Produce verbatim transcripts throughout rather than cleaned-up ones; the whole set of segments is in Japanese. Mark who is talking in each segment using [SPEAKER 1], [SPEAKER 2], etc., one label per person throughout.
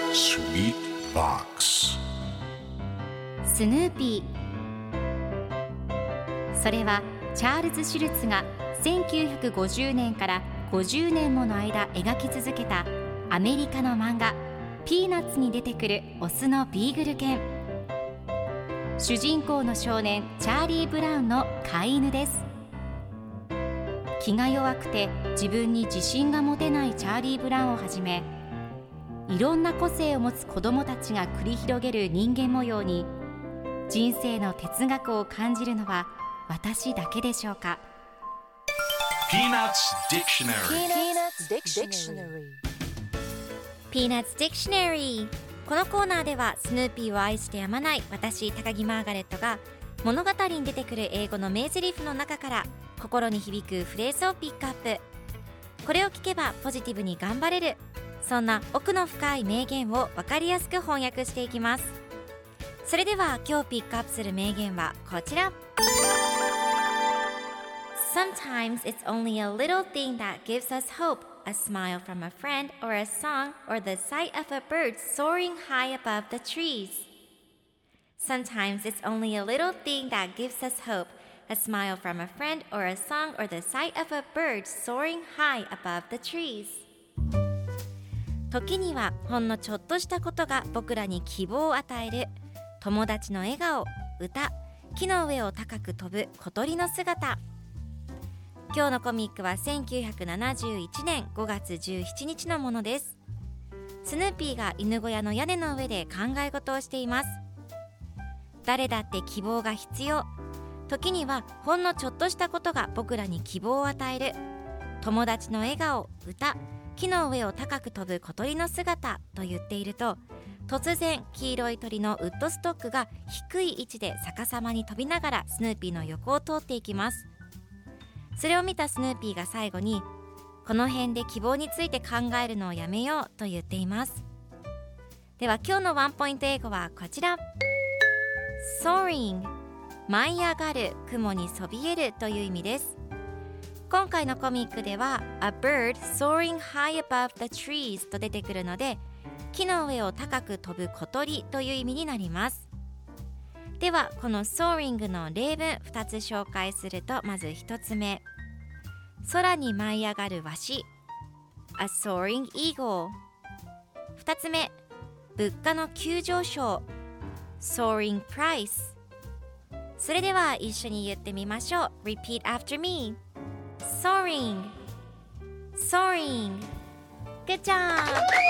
[SPEAKER 1] Sweet Box
[SPEAKER 2] スヌーピー。それはチャールズ・シュルツがせんきゅうひゃくごじゅうねんからごじゅうねんもの間描き続けたアメリカの漫画ピーナッツに出てくるオスのビーグル犬。主人公の少年チャーリー・ブラウンの飼い犬です。気が弱くて自分に自信が持てないチャーリー・ブラウンをはじめ、いろんな個性を持つ子どもたちが繰り広げる人間模様に人生の哲学を感じるのは私だけでしょうか。
[SPEAKER 1] Peanuts Dictionary
[SPEAKER 3] Peanuts Dictionary。 このコーナーではスヌーピーを愛してやまない私高木マーガレットが物語に出てくる英語の名台詞の中から心に響くフレーズをピックアップ。これを聞けばポジティブに頑張れる、そんな奥の深い名言を分かりやすく翻訳していきます。それでは今日ピックアップする名言はこちら。 Sometimes it's only a little thing that gives us hope. A smile from a friend or a song or the sight of a bird soaring high above the trees. Sometimes it's only a little thing that gives us hope. A smile from a friend or a song or the sight of a bird soaring high above the trees. 時にはほんのちょっとしたことが僕らに希望を与える。友達の笑顔、歌、木の上を高く飛ぶ小鳥の姿。今日のコミックはせんきゅうひゃくななじゅういちねんごがつじゅうしちにちのものです。スヌーピーが犬小屋の屋根の上で考え事をしています。誰だって希望が必要。時にはほんのちょっとしたことが僕らに希望を与える。友達の笑顔、歌、木の上を高く飛ぶ小鳥の姿と言っていると、突然黄色い鳥のウッドストックが低い位置で逆さまに飛びながらスヌーピーの横を通っていきます。それを見たスヌーピーが最後に、この辺で希望について考えるのをやめようと言っています。では今日のワンポイント英語はこちら。 Soaring、 舞い上がる、雲にそびえるという意味です。今回のコミックでは A bird soaring high above the trees と出てくるので、木の上を高く飛ぶ小鳥という意味になります。ではこの soaring の例文ふたつ紹介すると、まずひとつめ、空に舞い上がるワシ A soaring eagle。 ふたつめ、物価の急上昇 Soaring price。 それでは一緒に言ってみましょう。 Repeat after me。 Soaring Soaring。 Good job。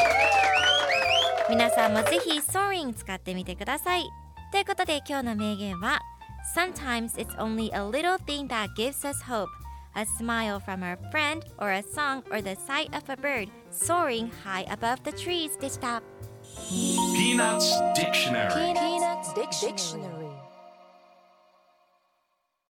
[SPEAKER 3] 皆さんもぜひ Soaring 使ってみてください。ということで今日の名言は Sometimes it's only a little thing that gives us hope. A smile from a friend or a song or the sight of a bird soaring high above the trees でした。
[SPEAKER 1] Peanuts Dictionary
[SPEAKER 4] Peanuts Dictionary